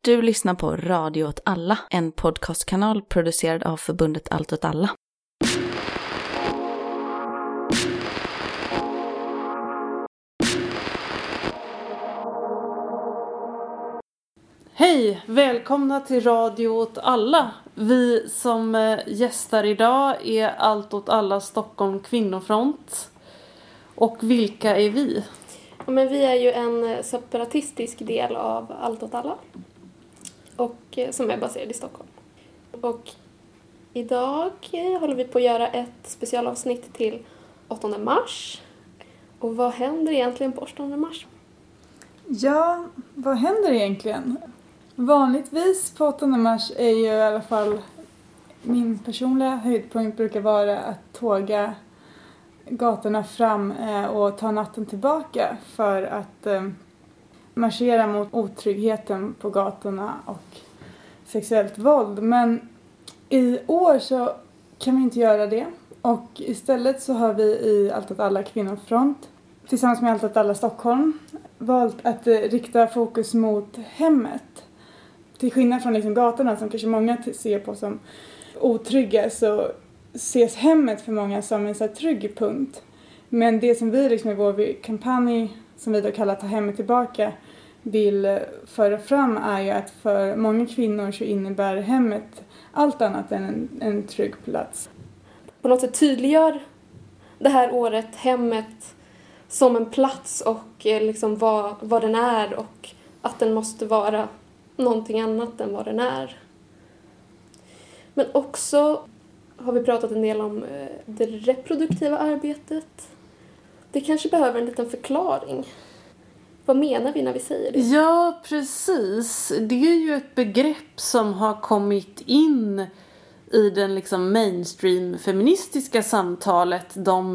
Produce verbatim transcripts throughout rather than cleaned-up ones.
Du lyssnar på Radio åt alla, en podcastkanal producerad av förbundet Allt åt alla. Hej, välkomna till Radio åt alla. Vi som gästar idag är Allt åt alla Stockholm Kvinnofront. Och vilka är vi? Ja, men vi är ju en separatistisk del av Allt åt alla. Och som är baserad i Stockholm. Och idag håller vi på att göra ett specialavsnitt till åttonde mars. Och vad händer egentligen på åttonde mars? Ja, vad händer egentligen? Vanligtvis på åttonde mars är ju i alla fall min personliga höjdpunkt brukar vara att tåga gatorna fram och ta natten tillbaka för att marschera mot otryggheten på gatorna och sexuellt våld. Men i år så kan vi inte göra det. Och istället så har vi i Allt åt alla Kvinnofront tillsammans med Allt åt alla Stockholm valt att rikta fokus mot hemmet. Till skillnad från liksom gatorna som kanske många ser på som otrygga så ses hemmet för många som en så här trygg punkt. Men det som vi liksom i vår kampanj som vi då kallar Ta hemmet tillbaka vill föra fram är ju att för många kvinnor så innebär hemmet allt annat än en, en trygg plats. På något sätt tydliggör det här året hemmet som en plats och liksom vad, vad den är och att den måste vara någonting annat än vad den är. Men också har vi pratat en del om det reproduktiva arbetet. Det kanske behöver en liten förklaring. Vad menar vi när vi säger det? Ja, precis. Det är ju ett begrepp som har kommit in i den liksom mainstream-feministiska samtalet de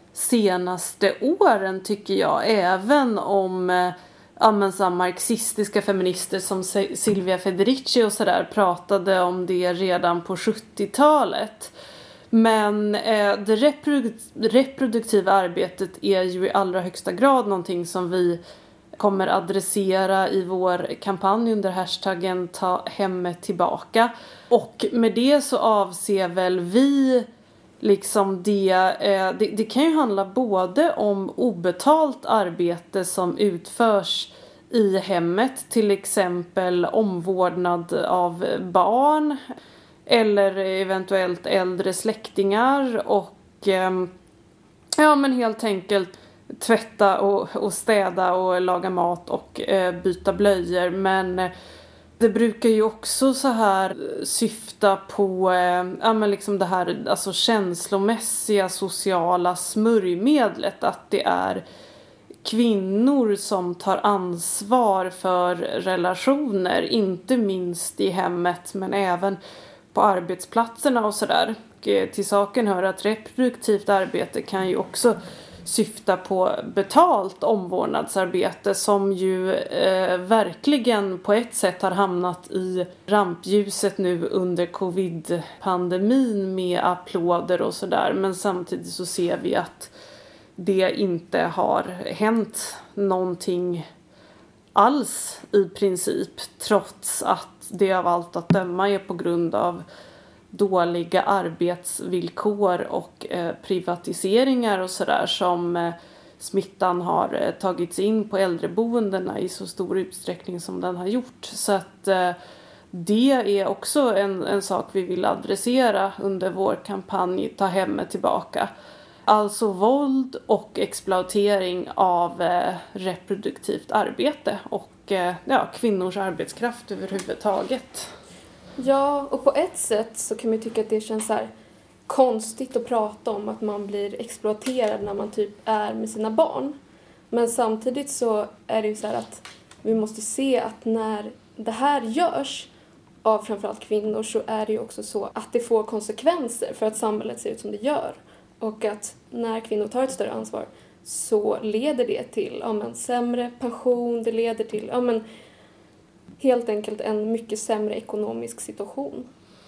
senaste åren tycker jag. Även om ja, men så marxistiska feminister som Silvia Federici och sådär pratade om det redan på sjuttiotalet. Men eh, det reprodukt- reproduktiva arbetet är ju i allra högsta grad någonting som vi kommer adressera i vår kampanj under hashtaggen Ta hemmet tillbaka. Och med det så avser väl vi liksom det, eh, det, det kan ju handla både om obetalt arbete som utförs i hemmet, till exempel omvårdnad av barn eller eventuellt äldre släktingar och eh, ja men helt enkelt tvätta och, och städa och laga mat och eh, byta blöjor. Men eh, det brukar ju också så här syfta på eh, ja, men liksom det här alltså känslomässiga sociala smörjmedlet, att det är kvinnor som tar ansvar för relationer, inte minst i hemmet men även på arbetsplatserna och sådär. Till saken hör att reproduktivt arbete kan ju också syfta på betalt omvårdnadsarbete som ju eh, verkligen på ett sätt har hamnat i rampljuset nu under covid-pandemin med applåder och sådär. Men samtidigt så ser vi att det inte har hänt någonting alls i princip, trots att det av allt att döma är på grund av dåliga arbetsvillkor och eh, privatiseringar och sådär som eh, smittan har eh, tagits in på äldreboendena i så stor utsträckning som den har gjort. Så att eh, det är också en, en sak vi vill adressera under vår kampanj Ta hemmet tillbaka. Alltså våld och exploatering av eh, reproduktivt arbete och eh, ja, kvinnors arbetskraft överhuvudtaget. Ja, och på ett sätt så kan man tycka att det känns så här konstigt att prata om att man blir exploaterad när man typ är med sina barn. Men samtidigt så är det ju så här att vi måste se att när det här görs av framförallt kvinnor så är det ju också så att det får konsekvenser för att samhället ser ut som det gör. Och att när kvinnor tar ett större ansvar så leder det till ja, men, sämre pension, det leder till ja, men, helt enkelt en mycket sämre ekonomisk situation.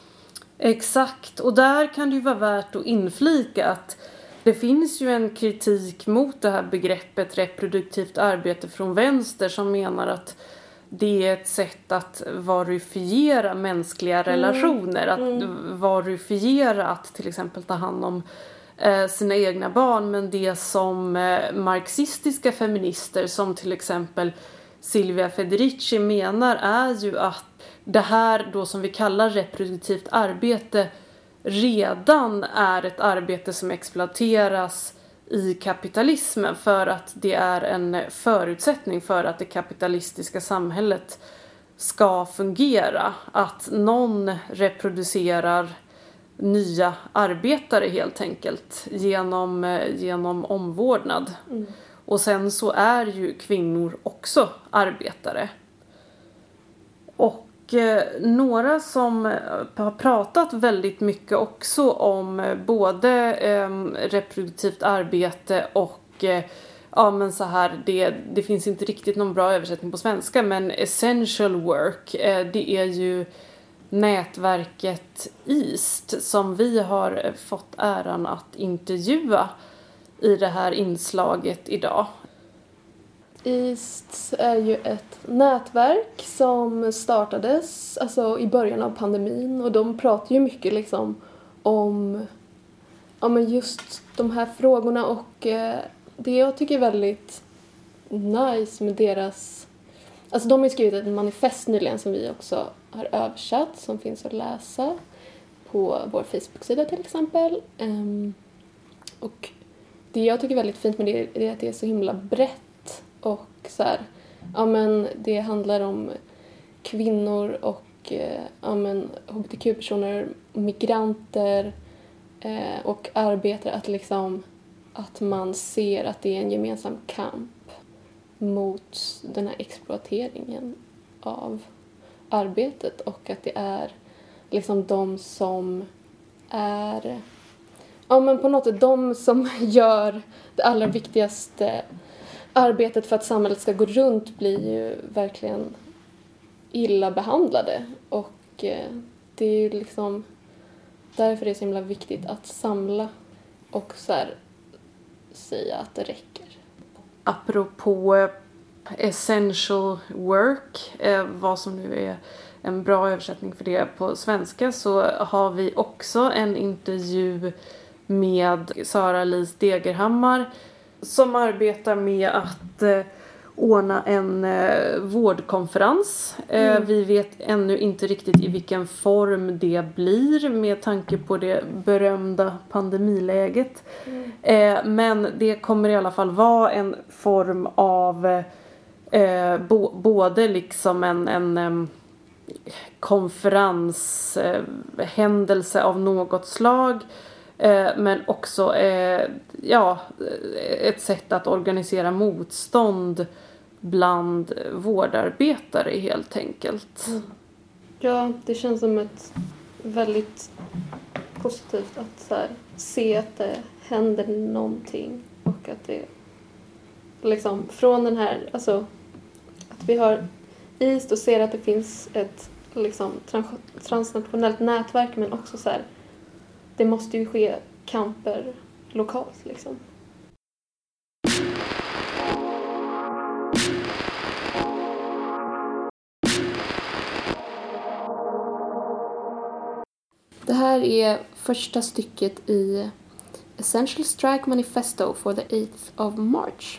Exakt, och där kan det ju vara värt att inflika att det finns ju en kritik mot det här begreppet reproduktivt arbete från vänster som menar att det är ett sätt att varifiera mänskliga relationer. Mm. Att varifiera att till exempel ta hand om eh, sina egna barn. Men det som eh, marxistiska feminister som till exempel Silvia Federici menar är ju att det här då som vi kallar reproduktivt arbete redan är ett arbete som exploateras i kapitalismen för att det är en förutsättning för att det kapitalistiska samhället ska fungera. Att någon reproducerar nya arbetare helt enkelt genom, genom omvårdnad. Mm. Och sen så är ju kvinnor också arbetare. Och eh, några som har pratat väldigt mycket också om både eh, reproduktivt arbete och eh, ja men så här, det, det finns inte riktigt någon bra översättning på svenska, men essential work, eh, det är ju nätverket East som vi har fått äran att intervjua i det här inslaget idag. East är ju ett nätverk som startades alltså, i början av pandemin, och de pratar ju mycket liksom om ja, men just de här frågorna, och eh, det jag tycker är väldigt nice med deras... Alltså de har skrivit ett manifest nyligen som vi också har översatt, som finns att läsa på vår Facebook-sida till exempel. Um, och det jag tycker är väldigt fint med det är att det är så himla brett, och så här, ja men det handlar om kvinnor och eh, ja men H B T Q-personer, migranter eh, och arbetare, att liksom att man ser att det är en gemensam kamp mot den här exploateringen av arbetet, och att det är liksom de som är ja men på något sätt de som gör det allra viktigaste arbetet för att samhället ska gå runt blir ju verkligen illa behandlade, och eh, det är ju liksom därför det är så himla viktigt att samla och så här säga att det räcker. Apropå essential work, eh, vad som nu är en bra översättning för det på svenska, så har vi också en intervju med Sara-Lis Degerhammar som arbetar med att eh, ordna en eh, vårdkonferens. Eh, Mm. Vi vet ännu inte riktigt i vilken form det blir med tanke på det berömda pandemiläget. Mm. Eh, men det kommer i alla fall vara en form av eh, bo, både liksom en, en eh, konferenshändelse eh, av något slag, eh, men också eh, ja, ett sätt att organisera motstånd bland vårdarbetare helt enkelt. Mm. Ja, det känns som ett väldigt positivt att så här, se att det händer någonting, och att det liksom från den här, alltså att vi har East och ser att det finns ett liksom trans- transnationellt nätverk, men också så här, det måste ju ske kamper lokalt liksom. Det här är första stycket i Essential Strike Manifesto for the eighth of March.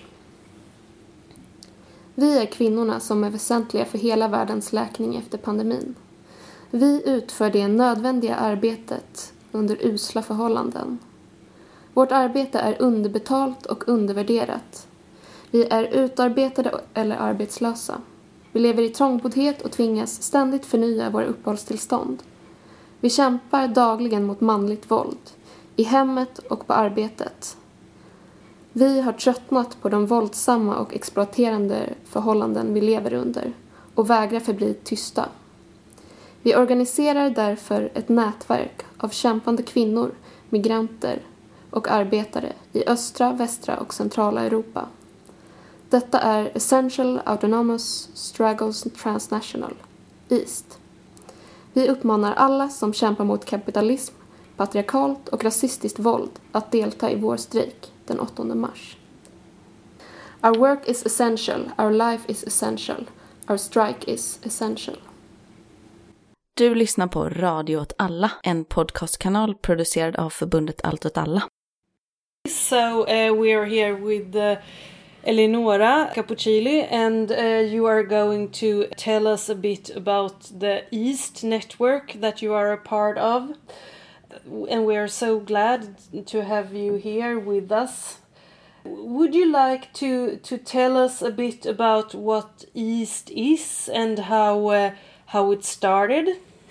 Vi är kvinnorna som är väsentliga för hela världens läkning efter pandemin. Vi utför det nödvändiga arbetet under usla förhållanden. Vårt arbete är underbetalt och undervärderat. Vi är utarbetade eller arbetslösa. Vi lever i trångboddhet och tvingas ständigt förnya våra uppehållstillstånd. Vi kämpar dagligen mot manligt våld, i hemmet och på arbetet. Vi har tröttnat på de våldsamma och exploaterande förhållanden vi lever under och vägrar förbli tysta. Vi organiserar därför ett nätverk av kämpande kvinnor, migranter och arbetare i östra, västra och centrala Europa. Detta är Essential Autonomous Struggles Transnational, East. Vi uppmanar alla som kämpar mot kapitalism, patriarkalt och rasistiskt våld att delta i vår strejk den åttonde mars. Our work is essential, our life is essential. our strike is essential. Du lyssnar på Radio åt alla, en podcastkanal producerad av förbundet Allt åt alla. So uh, we are here with uh, Eleonora Cappuccilli, and uh, you are going to tell us a bit about the East network that you are a part of. And we are so glad to have you here with us. Would you like to, to tell us a bit about what East is and how uh, how it started?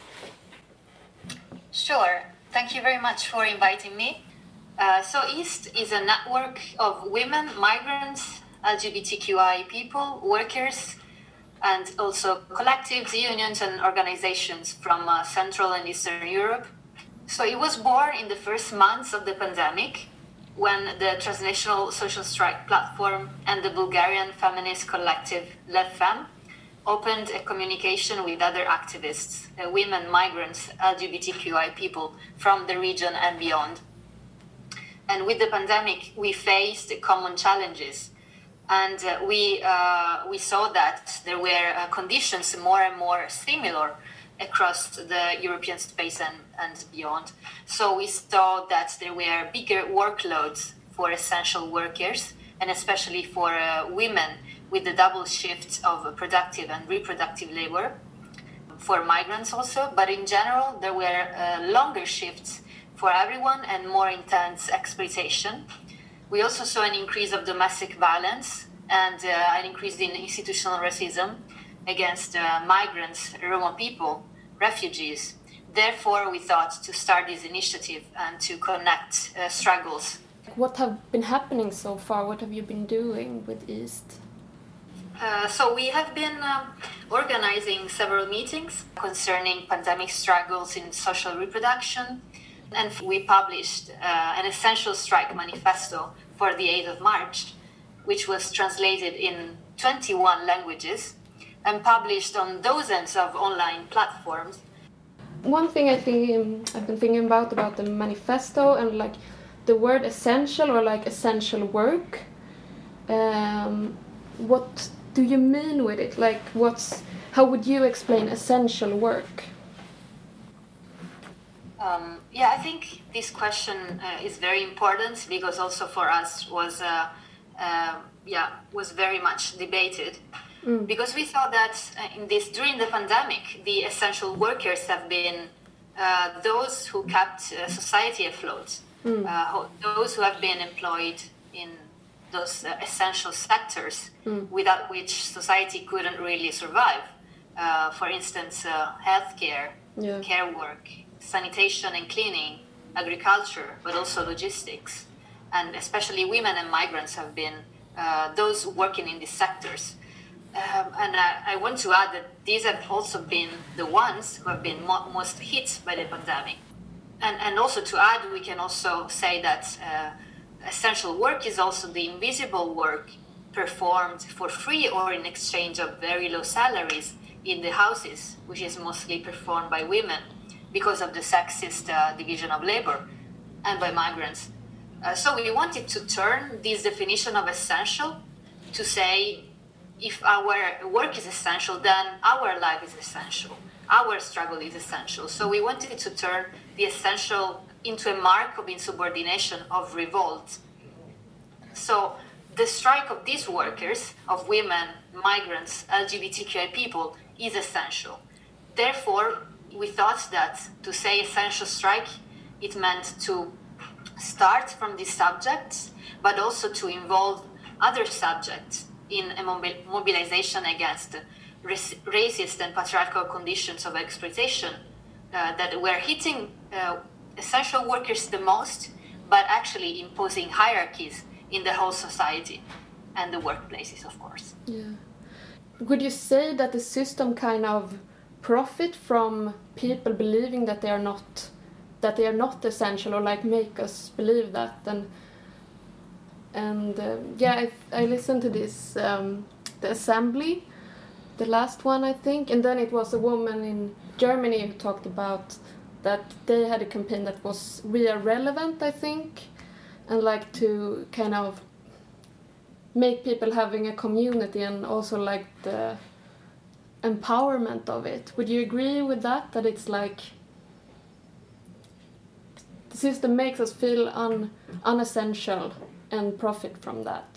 Sure. Thank you very much for inviting me. Uh, so East is a network of women, migrants, L G B T Q I people, workers, and also collectives, unions and organizations from uh, Central and Eastern Europe. So it was born in the first months of the pandemic, when the transnational social strike platform and the Bulgarian feminist collective LevFem opened a communication with other activists, uh, women, migrants, L G B T Q I people from the region and beyond. And with the pandemic, we faced common challenges. And uh, we, uh, we saw that there were uh, conditions more and more similar across the European space and, and beyond. So we saw that there were bigger workloads for essential workers, and especially for uh, women with the double shifts of productive and reproductive labor, for migrants also, but in general there were uh, longer shifts for everyone and more intense exploitation. We also saw an increase of domestic violence and uh, an increase in institutional racism against uh, migrants, Roma people, refugees. Therefore, we thought to start this initiative and to connect uh, struggles. What have been happening so far? What have you been doing with East? Uh, so we have been uh, organizing several meetings concerning pandemic struggles in social reproduction, and we published uh, an essential strike manifesto for the eighth of March, which was translated in twenty-one languages and published on dozens of online platforms. One thing I think um, I've been thinking about about the manifesto and like the word essential or like essential work. Um, what do you mean with it? Like, what's how would you explain essential work? Um, yeah, I think this question uh, is very important because also for us was uh, uh, yeah was very much debated. Mm. Because we thought that uh, in this during the pandemic, the essential workers have been uh, those who kept uh, society afloat, mm. uh, those who have been employed in those uh, essential sectors mm. without which society couldn't really survive. Uh, for instance, uh, healthcare, yeah. care work, sanitation and cleaning, agriculture, but also logistics. And especially women and migrants have been uh, those working in these sectors. Um, and I, I want to add that these have also been the ones who have been mo- most hit by the pandemic. And, and also to add, we can also say that uh, essential work is also the invisible work performed for free or in exchange of very low salaries in the houses, which is mostly performed by women because of the sexist uh, division of labor, and by migrants. Uh, so we wanted to turn this definition of essential to say, if our work is essential, then our life is essential. Our struggle is essential. So we wanted to turn the essential into a mark of insubordination, of revolt. So the strike of these workers, of women, migrants, L G B T Q I people, is essential. Therefore, we thought that to say essential strike, it meant to start from these subjects, but also to involve other subjects in a mobilization against racist and patriarchal conditions of exploitation uh, that were hitting uh, essential workers the most, but actually imposing hierarchies in the whole society and the workplaces, of course. Yeah. Would you say that the system kind of profit from people believing that they are not that they are not essential, or like make us believe that? And and uh, yeah, I I listened to this um, the assembly, the last one I think, and then it was a woman in Germany who talked about that they had a campaign that was We Are Relevant, I think, and like to kind of make people having a community, and also like the empowerment of it. Would you agree with that? That it's like the system makes us feel un, unessential and profit from that.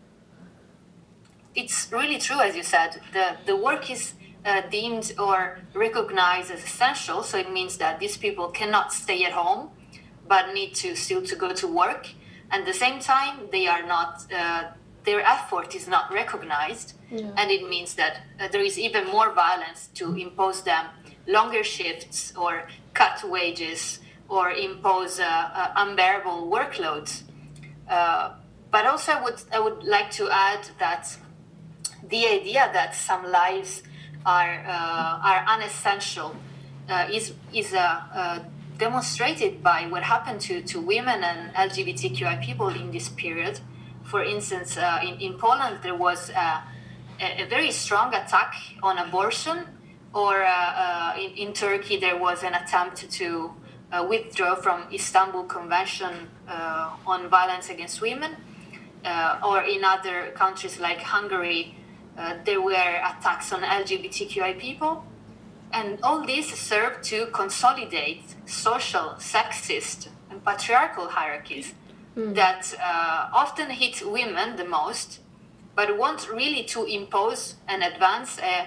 It's really true, as you said. The, the work is uh, deemed or recognized as essential, so it means that these people cannot stay at home, but need to still to go to work. And at the same time, they are not, uh, their effort is not recognized, yeah. And it means that uh, there is even more violence to impose them longer shifts or cut wages or impose uh, uh, unbearable workloads. Uh, but also I would, I would like to add that the idea that some lives are uh, are unessential uh, is is uh, uh, demonstrated by what happened to, to women and L G B T Q I people in this period. For instance, uh, in, in Poland there was uh, a, a very strong attack on abortion, or uh, uh, in, in Turkey there was an attempt to uh, withdraw from Istanbul Convention uh, on violence against women, uh, or in other countries like Hungary. Uh, there were attacks on L G B T Q I people, and all this served to consolidate social, sexist, and patriarchal hierarchies mm. that uh, often hit women the most, but want really to impose and advance a,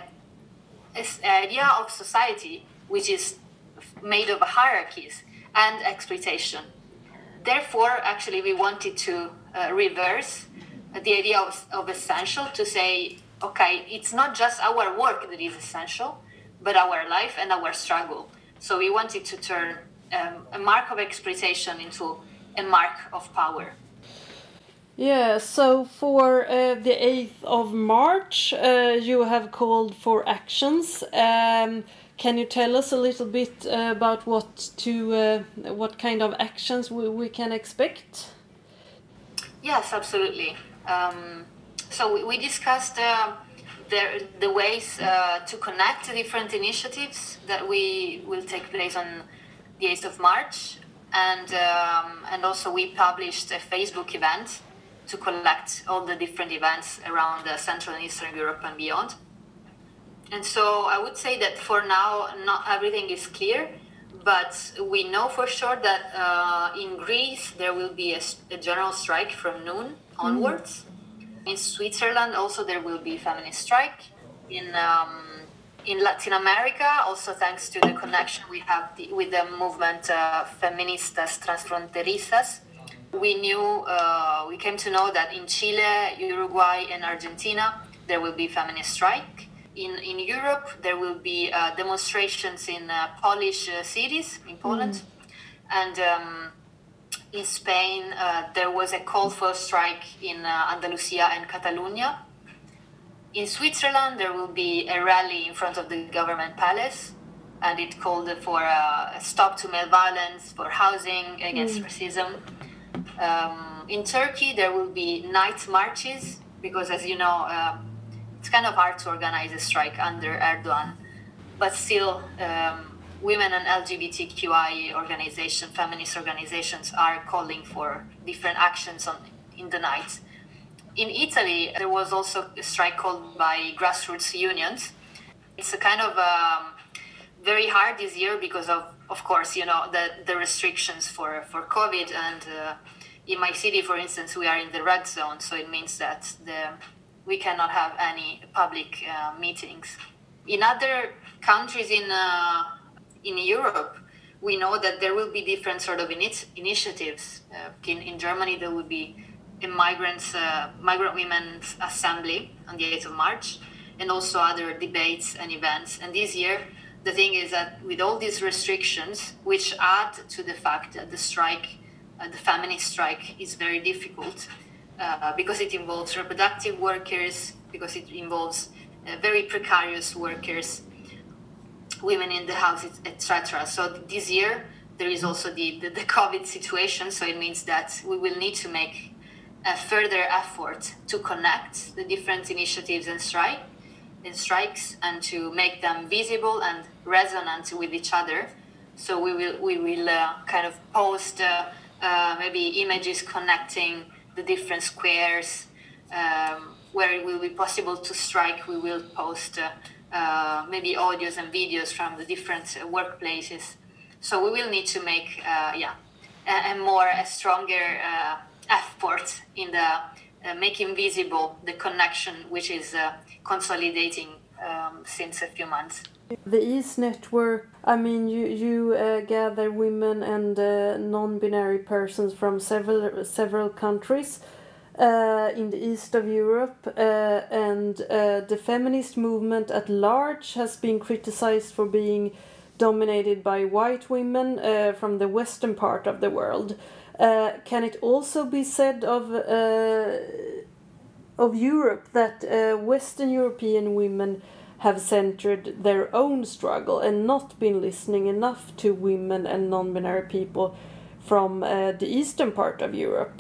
a idea of society which is made of hierarchies and exploitation. Therefore, actually, we wanted to uh, reverse the idea of, of essential, to say, okay, it's not just our work that is essential, but our life and our struggle. So we wanted to turn um, a mark of exploitation into a mark of power. Yeah, so for uh, the eighth of March, uh, you have called for actions. Um, can you tell us a little bit uh, about what to, uh, what kind of actions we, we can expect? Yes, absolutely. Um, So we discussed uh, the, the ways uh, to connect different initiatives that we will take place on the eighth of March. And, um, and also we published a Facebook event to collect all the different events around uh, Central and Eastern Europe and beyond. And so I would say that for now, not everything is clear, but we know for sure that uh, in Greece there will be a, a general strike from noon onwards. Mm. In Switzerland, also there will be feminist strike. In um, in Latin America, also thanks to the connection we have the, with the movement uh, Feministas Transfronterizas, we knew, uh, we came to know that in Chile, Uruguay, and Argentina there will be feminist strike. In in Europe, there will be uh, demonstrations in uh, Polish uh, cities in Poland, mm. and. Um, In Spain, uh, there was a call for strike in uh, Andalusia and Catalonia. In Switzerland, there will be a rally in front of the government palace, and it called for uh, a stop to male violence, for housing against mm. racism. Um, in Turkey, there will be night marches, because as you know, uh, it's kind of hard to organize a strike under Erdogan, but still, um, women and L G B T Q I organizations, feminist organizations, are calling for different actions on in the night. In Italy, there was also a strike called by grassroots unions. It's a kind of um, very hard this year because of, of course, you know, the, the restrictions for, for COVID. And uh, in my city, for instance, we are in the red zone. So it means that the, we cannot have any public uh, meetings. In other countries in uh, in Europe, we know that there will be different sort of init- initiatives. Uh, in, in Germany, there will be a migrants, uh, migrant women's assembly on the eighth of March, and also other debates and events. And this year, the thing is that with all these restrictions, which add to the fact that the strike, uh, the feminist strike, is very difficult, uh, because it involves reproductive workers, because it involves uh, very precarious workers, women in the house, et cetera. So this year there is also the, the, the COVID situation. So it means that we will need to make a further effort to connect the different initiatives and strike and strikes, and to make them visible and resonant with each other. So we will we will uh, kind of post uh, uh, maybe images connecting the different squares um, where it will be possible to strike. We will post. Uh, uh, maybe audios and videos from the different uh, workplaces. So we will need to make, uh, yeah, a, a more, a stronger uh, effort in the uh, making visible the connection which is uh, consolidating um, since a few months. The East Network, I mean, you, you uh, gather women and uh, non-binary persons from several several countries uh, in the east of Europe, uh, and uh, the feminist movement at large has been criticized for being dominated by white women uh, from the western part of the world. Uh, can it also be said of uh, of Europe that uh, Western European women have centered their own struggle and not been listening enough to women and non-binary people from uh, the eastern part of Europe?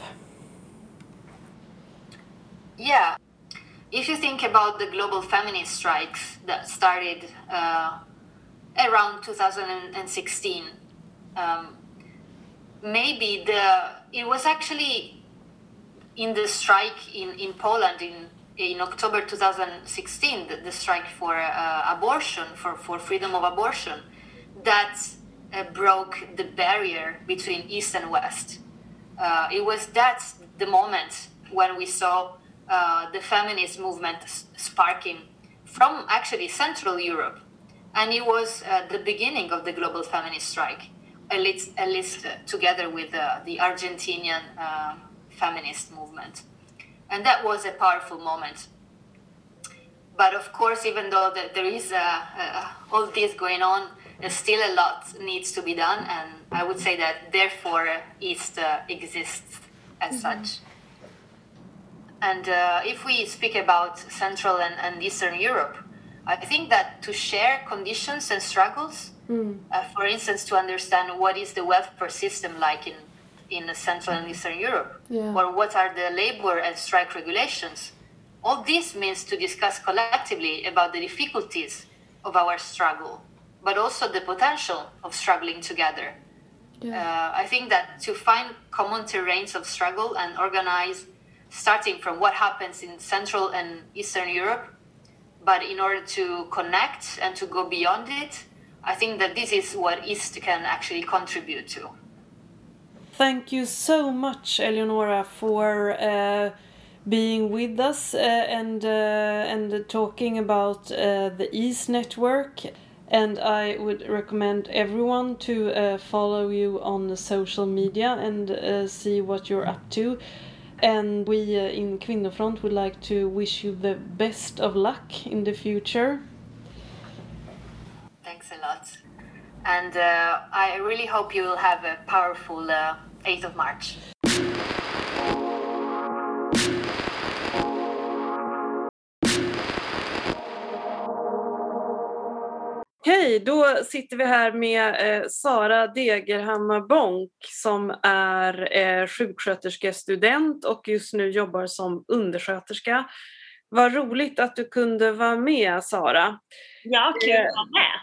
Yeah, if you think about the global feminist strikes that started uh, around two thousand sixteen, um, maybe the it was actually in the strike in, in Poland in in October two thousand sixteen, the, the strike for uh, abortion, for, for freedom of abortion, that uh, broke the barrier between East and West. Uh, it was that the moment when we saw uh, the feminist movement sparking from actually Central Europe. And it was uh, the beginning of the global feminist strike, at least, at least uh, together with uh, the Argentinian uh, feminist movement. And that was a powerful moment. But of course, even though that there is uh, uh, all this going on, uh, still a lot needs to be done. And I would say that therefore uh, East uh, exists as mm-hmm. such. And uh, if we speak about Central and, and Eastern Europe, I think that to share conditions and struggles, mm. uh, for instance, to understand what is the welfare system like in in Central and Eastern Europe, yeah. or what are the labor and strike regulations. All this means to discuss collectively about the difficulties of our struggle, but also the potential of struggling together. Yeah. Uh, I think that to find common terrains of struggle and organize, starting from what happens in Central and Eastern Europe, but in order to connect and to go beyond it, I think that this is what East can actually contribute to. Thank you so much, Eleonora, for uh, being with us uh, and uh, and talking about uh, the East Network. And I would recommend everyone to uh, follow you on the social media and uh, see what you're up to. And we uh, in Kvinnofront would like to wish you the best of luck in the future. Thanks a lot. And uh, I really hope you will have a powerful uh, eighth of March. Hej, då sitter vi här med eh, Sara Degerhammar Bonk som är eh, sjuksköterskestudent och just nu jobbar som undersköterska. Vad roligt att du kunde vara med, Sara. Ja, kul att vara med.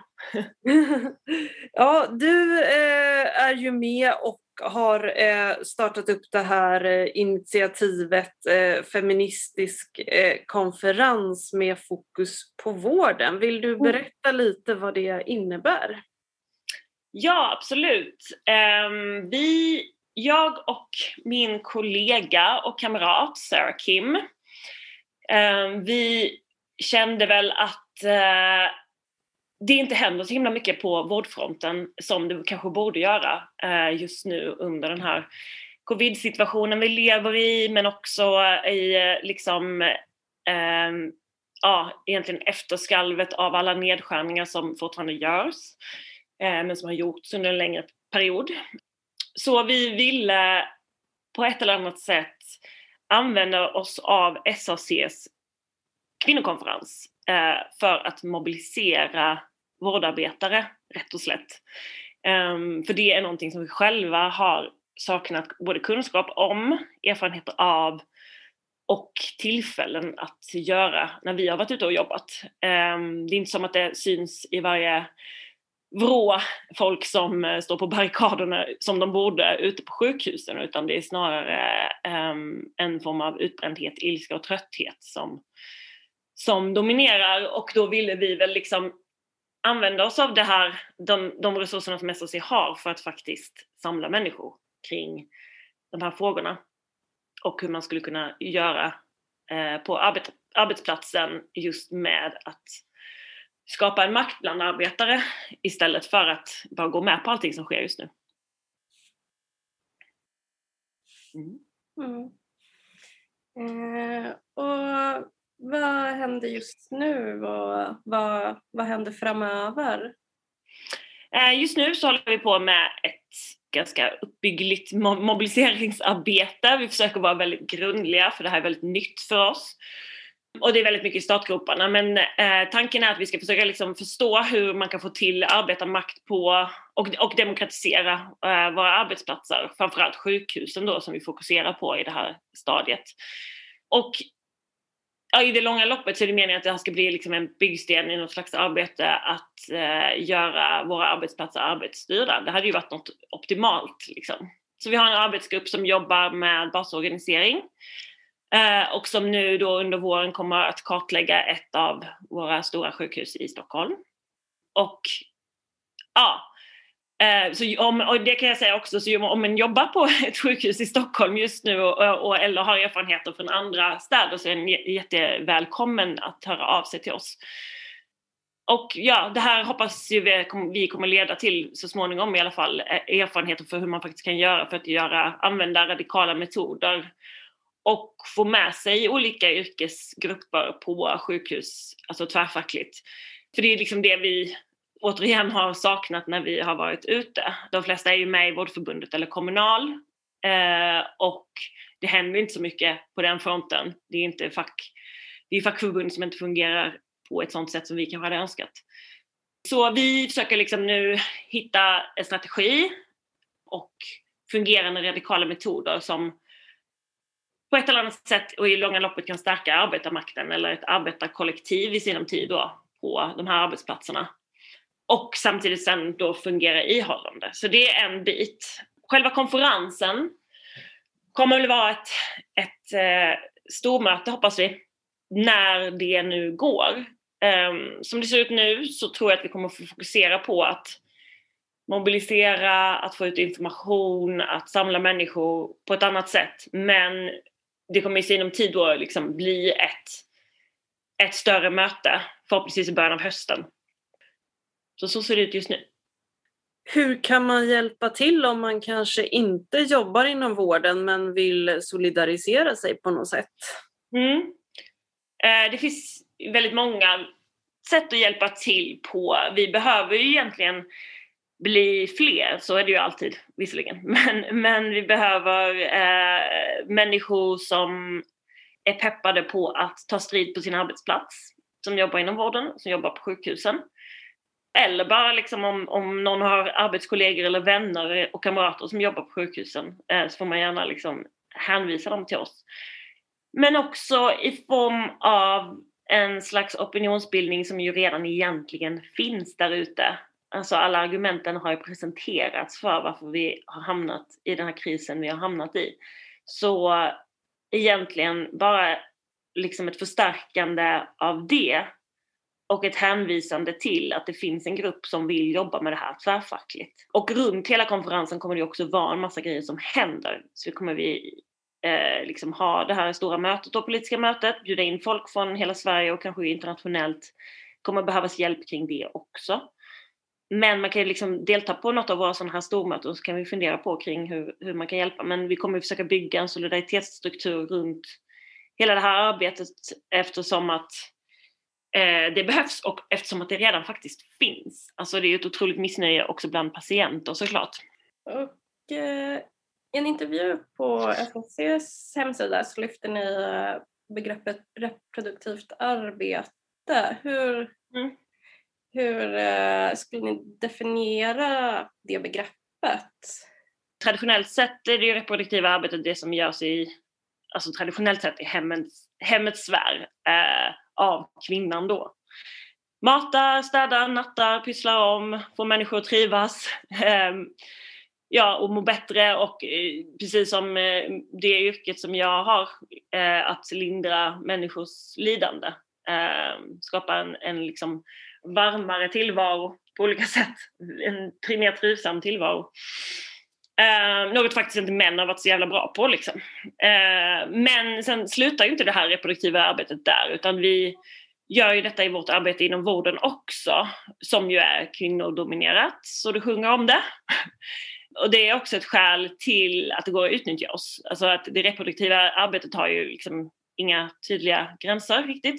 Ja, du eh, är ju med och har eh, startat upp det här eh, initiativet eh, feministisk eh, konferens med fokus på vården. Vill du berätta lite vad det innebär? Ja, absolut. Um, vi, jag och min kollega och kamrat Sarah Kim, um, vi kände väl att uh, det inte händer så himla mycket på vårdfronten som det kanske borde göra uh, just nu under den här covid-situationen vi lever i, men också i uh, liksom uh, ja, egentligen efterskalvet av alla nedskärningar som fortfarande görs, uh, men som har gjorts under en längre period. Så vi ville på ett eller annat sätt använda oss av S A C:s kvinnokonferens eh, för att mobilisera vårdarbetare, rätt och slätt. Um, för det är någonting som vi själva har saknat både kunskap om, erfarenheter av och tillfällen att göra när vi har varit ute och jobbat. Um, det är inte som att det syns i varje vrå folk som står på barrikaderna som de borde ute på sjukhusen, utan det är snarare um, en form av utbrändhet, ilska och trötthet som som dominerar, och då ville vi väl liksom använda oss av det här, de, de resurserna som S O C har för att faktiskt samla människor kring de här frågorna och hur man skulle kunna göra eh, på arbet, arbetsplatsen just med att skapa en makt bland arbetare istället för att bara gå med på allting som sker just nu. Mm. Mm. Eh, och vad händer just nu och vad, vad händer framöver? Eh, just nu så håller vi på med ett ganska uppbyggligt mobiliseringsarbete. Vi försöker vara väldigt grundliga, för det här är väldigt nytt för oss. Och det är väldigt mycket i startgroparna, men eh, tanken är att vi ska försöka liksom förstå hur man kan få till arbetarmakt på och, och demokratisera eh, våra arbetsplatser, framförallt sjukhusen då som vi fokuserar på i det här stadiet. Och ja, i det långa loppet så är det meningen att det här ska bli liksom en byggsten i något slags arbete att eh, göra våra arbetsplatser arbetsstyrda. Det hade ju varit något optimalt liksom. Så vi har en arbetsgrupp som jobbar med basorganisering. Eh, och som nu då under våren kommer att kartlägga ett av våra stora sjukhus i Stockholm. Och ja, eh, så om, och det kan jag säga också, så om man jobbar på ett sjukhus i Stockholm just nu och, och, eller har erfarenheter från andra städer, så är den jättevälkommen att höra av sig till oss. Och ja, det här hoppas vi, vi kommer leda till så småningom i alla fall erfarenheter för hur man faktiskt kan göra för att göra, använda radikala metoder och få med sig olika yrkesgrupper på sjukhus, alltså tvärfackligt. För det är liksom det vi återigen har saknat när vi har varit ute. De flesta är ju med i Vårdförbundet eller Kommunal. Eh, och det händer inte så mycket på den fronten. Det är inte fack, det är fackförbund som inte fungerar på ett sånt sätt som vi kanske hade önskat. Så vi försöker liksom nu hitta en strategi och fungerande radikala metoder som på ett eller annat sätt och i långa loppet kan stärka arbetarmakten eller ett arbetarkollektiv i sinom tid då på de här arbetsplatserna. Och samtidigt sen då fungera ihållande. Så det är en bit. Själva konferensen kommer väl vara ett, ett eh, stormöte, hoppas vi, när det nu går. Um, som det ser ut nu så tror jag att vi kommer att fokusera på att mobilisera, att få ut information, att samla människor på ett annat sätt. Men det kommer i sinom tid då liksom bli ett, ett större möte, förhoppningsvis i början av hösten. Så så ser det ut just nu. Hur kan man hjälpa till om man kanske inte jobbar inom vården men vill solidarisera sig på något sätt? Mm. Eh, det finns väldigt många sätt att hjälpa till på. Vi behöver ju egentligen bli fler, så är det ju alltid visserligen. Men, men vi behöver eh, människor som är peppade på att ta strid på sin arbetsplats. Som jobbar inom vården, som jobbar på sjukhusen. Eller bara liksom om, om någon har arbetskollegor eller vänner och kamrater som jobbar på sjukhusen, eh, så får man gärna liksom hänvisa dem till oss. Men också i form av en slags opinionsbildning som ju redan egentligen finns där ute. Alltså alla argumenten har ju presenterats för varför vi har hamnat i den här krisen vi har hamnat i. Så egentligen bara liksom ett förstärkande av det och ett hänvisande till att det finns en grupp som vill jobba med det här tvärfackligt. Och runt hela konferensen kommer det också vara en massa grejer som händer. Så kommer vi eh, liksom ha det här stora mötet och politiska mötet, bjuda in folk från hela Sverige och kanske internationellt. Kommer behövas hjälp kring det också. Men man kan ju liksom delta på något av våra sådana här stormöten och så kan vi fundera på kring hur, hur man kan hjälpa. Men vi kommer försöka bygga en solidaritetsstruktur runt hela det här arbetet eftersom att eh, det behövs och eftersom att det redan faktiskt finns. Alltså det är ett otroligt missnöje också bland patienter såklart. Och eh, i en intervju på S O C:s hemsida så lyfter ni begreppet reproduktivt arbete. Hur... Mm. Hur eh, skulle ni definiera det begreppet? Traditionellt sett är det ju reproduktiva arbetet det som görs i, alltså traditionellt sett i hemmets, hemmets sfär eh, av kvinnan då. Matar, städar, nattar, pysslar om, får människor att trivas. Eh, ja, och må bättre och eh, precis som eh, det yrket som jag har, eh, att lindra människors lidande. eh, skapa en, en liksom varmare tillvaro på olika sätt. En mer trivsam tillvaro. Eh, något faktiskt inte män har varit så jävla bra på liksom. Eh, men sen slutar ju inte det här reproduktiva arbetet där, utan vi gör ju detta i vårt arbete inom vården också, som ju är kvinnodominerat, så du sjunger om det. Och det är också ett skäl till att det går att utnyttja oss. Alltså att det reproduktiva arbetet har ju liksom inga tydliga gränser riktigt.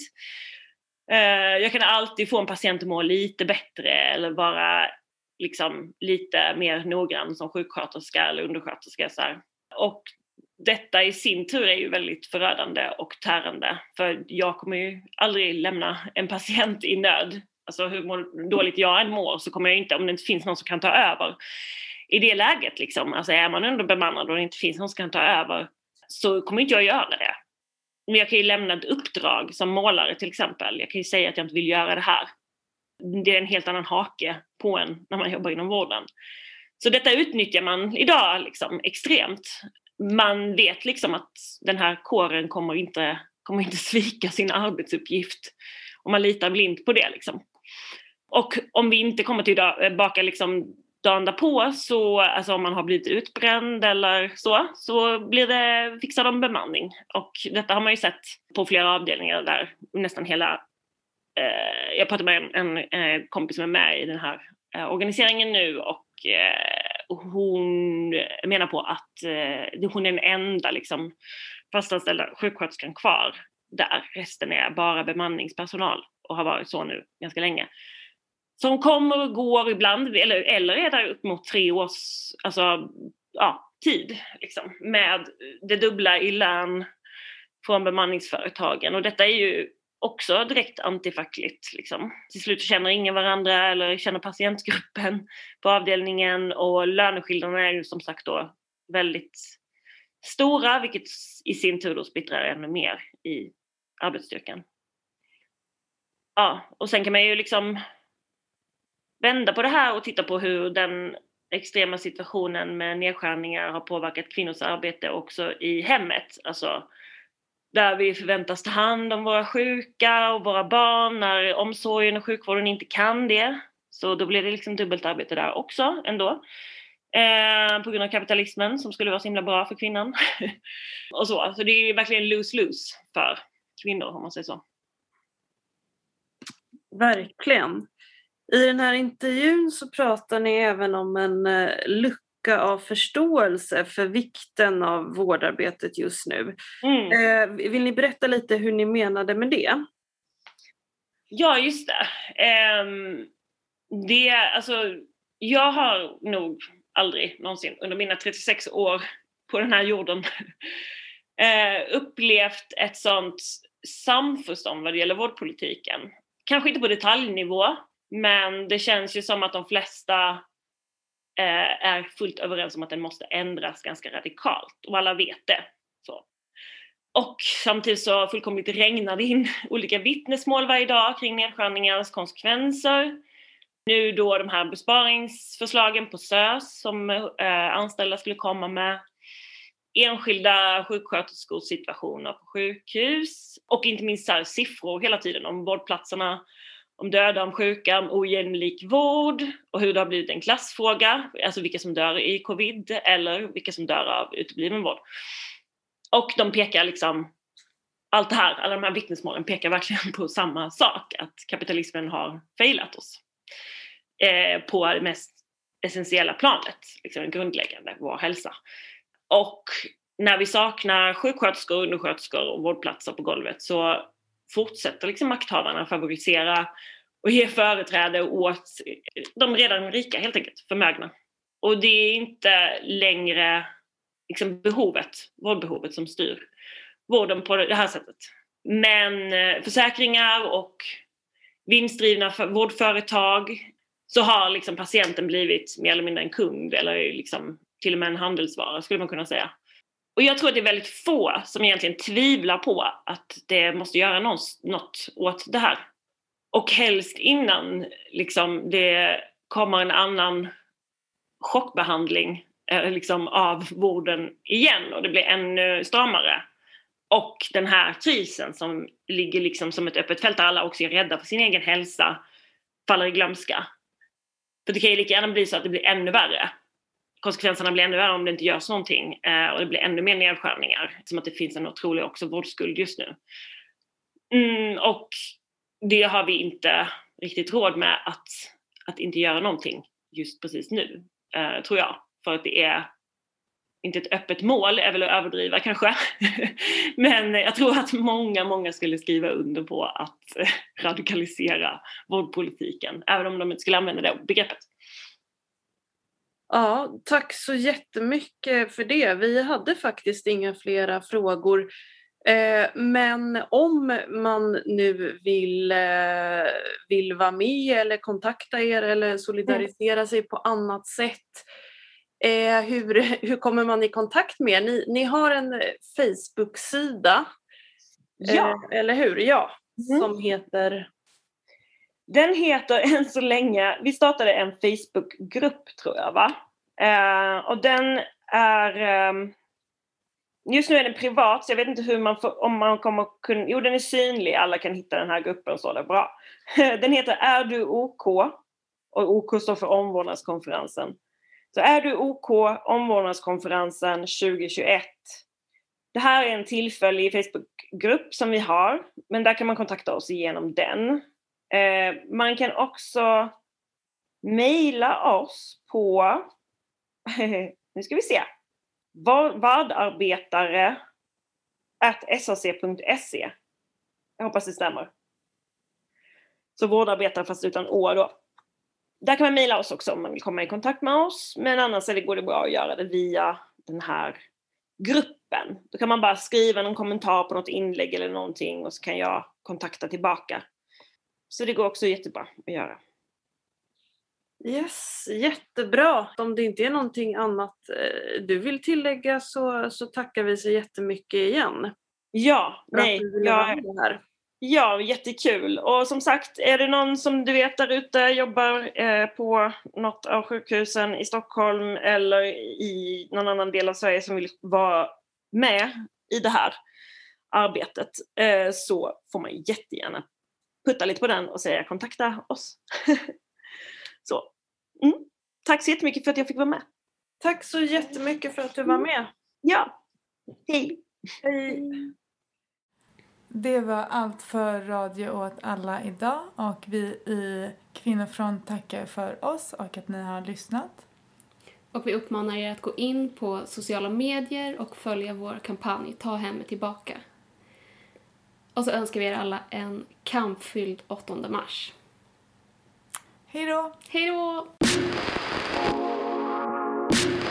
Jag kan alltid få en patient att må lite bättre eller vara liksom lite mer noggrann som sjuksköterska eller undersköterska. Så här. Och detta i sin tur är ju väldigt förödande och tärande. För jag kommer ju aldrig lämna en patient i nöd. Alltså hur dåligt jag än mår så kommer jag inte, om det inte finns någon som kan ta över. I det läget liksom, alltså är man underbemannad och det inte finns någon som kan ta över, så kommer inte jag göra det. Men jag kan ju lämna ett uppdrag som målare till exempel. Jag kan ju säga att jag inte vill göra det här. Det är en helt annan hake på en när man jobbar inom vården. Så detta utnyttjar man idag liksom extremt. Man vet liksom att den här kåren kommer inte, kommer inte svika sin arbetsuppgift. Och man litar blint på det liksom. Och om vi inte kommer tillbaka liksom dagen därpå, så alltså om man har blivit utbränd eller så, så blir det, fixar de bemanning. Och detta har man ju sett på flera avdelningar där nästan hela, eh, jag pratade med en, en eh, kompis som är med i den här eh, organiseringen nu, och eh, hon menar på att eh, hon är den enda liksom fastanställda sjuksköterskan kvar där. Resten är bara bemanningspersonal och har varit så nu ganska länge. Som kommer och går ibland, eller, eller är där upp mot tre års alltså, ja, tid liksom, med det dubbla i lön från bemanningsföretagen. Och detta är ju också direkt antifackligt. Liksom. Till slut känner ingen varandra eller känner patientgruppen på avdelningen, och löneskillnaderna är ju som sagt då väldigt stora, vilket i sin tur då splittrar ännu mer i arbetsstyrkan. Ja, och sen kan man ju liksom vända på det här och titta på hur den extrema situationen med nedskärningar har påverkat kvinnors arbete också i hemmet. Alltså där vi förväntas ta hand om våra sjuka och våra barn när omsorgen och sjukvården inte kan det. Så då blir det liksom dubbelt arbete där också ändå. Eh, på grund av kapitalismen som skulle vara så himla bra för kvinnan. och så. Så det är verkligen lose-lose för kvinnor om man säger så. Verkligen. I den här intervjun så pratar ni även om en uh, lucka av förståelse för vikten av vårdarbetet just nu. Mm. Uh, vill ni berätta lite hur ni menade med det? Ja, just det. Um, det alltså, jag har nog aldrig någonsin under mina trettiosex år på den här jorden uh, upplevt ett sånt samförstånd vad det gäller vårdpolitiken. Kanske inte på detaljnivå, men det känns ju som att de flesta eh, är fullt överens om att den måste ändras ganska radikalt. Och alla vet det. Så. Och samtidigt så fullkomligt regnar det in olika vittnesmål varje dag kring nedskärningarnas konsekvenser. Nu då de här besparingsförslagen på S Ö S som eh, anställda skulle komma med. Enskilda sjuksköterskors situationer på sjukhus. Och inte minst så här siffror hela tiden om vårdplatserna. Om döda, om sjuka, om ojämlik vård och hur det har blivit en klassfråga. Alltså vilka som dör i covid eller vilka som dör av utebliven vård. Och de pekar liksom, allt det här, alla de här vittnesmålen pekar verkligen på samma sak. Att kapitalismen har failat oss. Eh, på det mest essentiella planet, liksom grundläggande, vår hälsa. Och när vi saknar sjuksköterskor, undersköterskor och vårdplatser på golvet så fortsätter liksom makthavarna favorisera och ge företräde åt de redan rika, helt enkelt, förmögna. Och det är inte längre liksom behovet, vårdbehovet som styr vården på det här sättet. Men försäkringar och vinstdrivna vårdföretag, så har liksom patienten blivit mer eller mindre en kund eller liksom till och med en handelsvara, skulle man kunna säga. Och jag tror att det är väldigt få som egentligen tvivlar på att det måste göra något åt det här. Och helst innan liksom, det kommer en annan chockbehandling liksom, av vården igen och det blir ännu stramare. och den här krisen som ligger liksom som ett öppet fält där alla också är rädda för sin egen hälsa faller i glömska. För det kan ju lika gärna bli så att det blir ännu värre. Konsekvenserna blir ännu värre om det inte görs någonting. Eh, och det blir ännu mer nedskärningar. Som att det finns en otrolig också vårdskuld just nu. Mm, och det har vi inte riktigt råd med att, att inte göra någonting just precis nu. Eh, tror jag. För att det är inte ett öppet mål, är väl att överdriva kanske. Men jag tror att många, många skulle skriva under på att radikalisera vårdpolitiken. Även om de inte skulle använda det begreppet. Ja, tack så jättemycket för det. Vi hade faktiskt inga flera frågor. Eh, men om man nu vill, eh, vill vara med eller kontakta er eller solidarisera mm. sig på annat sätt. Eh, hur, hur kommer man i kontakt med er? Ni, ni har en Facebook-sida. Ja. Eh, eller hur? Ja. Mm. Som heter... Den heter än så länge... Vi startade en Facebook-grupp tror jag va? Eh, och den är... Eh, just nu är den privat så jag vet inte hur man får... Om man kommer kunna... Jo den är synlig. Alla kan hitta den här gruppen så det är bra. Den heter Är du OK? Och OK står för omvårdnadskonferensen. Så är du OK, omvårdnadskonferensen tjugohundratjugoett. Det här är en tillfällig Facebookgrupp som vi har. Men där kan man kontakta oss igenom den. Eh, man kan också mejla oss på... nu ska vi se. vardarbetare at s a c punkt se. Jag hoppas det stämmer. Så vårdarbetare fast utan å då. Där kan man mejla oss också om man vill komma i kontakt med oss. Men annars är det, går det bra att göra det via den här gruppen. Då kan man bara skriva någon kommentar på något inlägg eller någonting. Och så kan jag kontakta tillbaka. Så det går också jättebra att göra. Yes, jättebra. Om det inte är någonting annat du vill tillägga så, så tackar vi så jättemycket igen. Ja, nej. Jag, här. Ja, jättekul. Och som sagt, är det någon som du vet där ute jobbar eh, på något av sjukhusen i Stockholm eller i någon annan del av Sverige som vill vara med i det här arbetet eh, så får man jättegärna putta lite på den och säga kontakta oss. Så. Mm. Tack så jättemycket för att jag fick vara med. Tack så jättemycket för att du var med. Ja, hej. Hej. Det var allt för Radio åt alla idag och vi i Kvinnofront tackar för oss och att ni har lyssnat. Och vi uppmanar er att gå in på sociala medier och följa vår kampanj Ta hemmet tillbaka. Och så önskar vi er alla en kampfylld åttonde mars. Hej då! Hej då!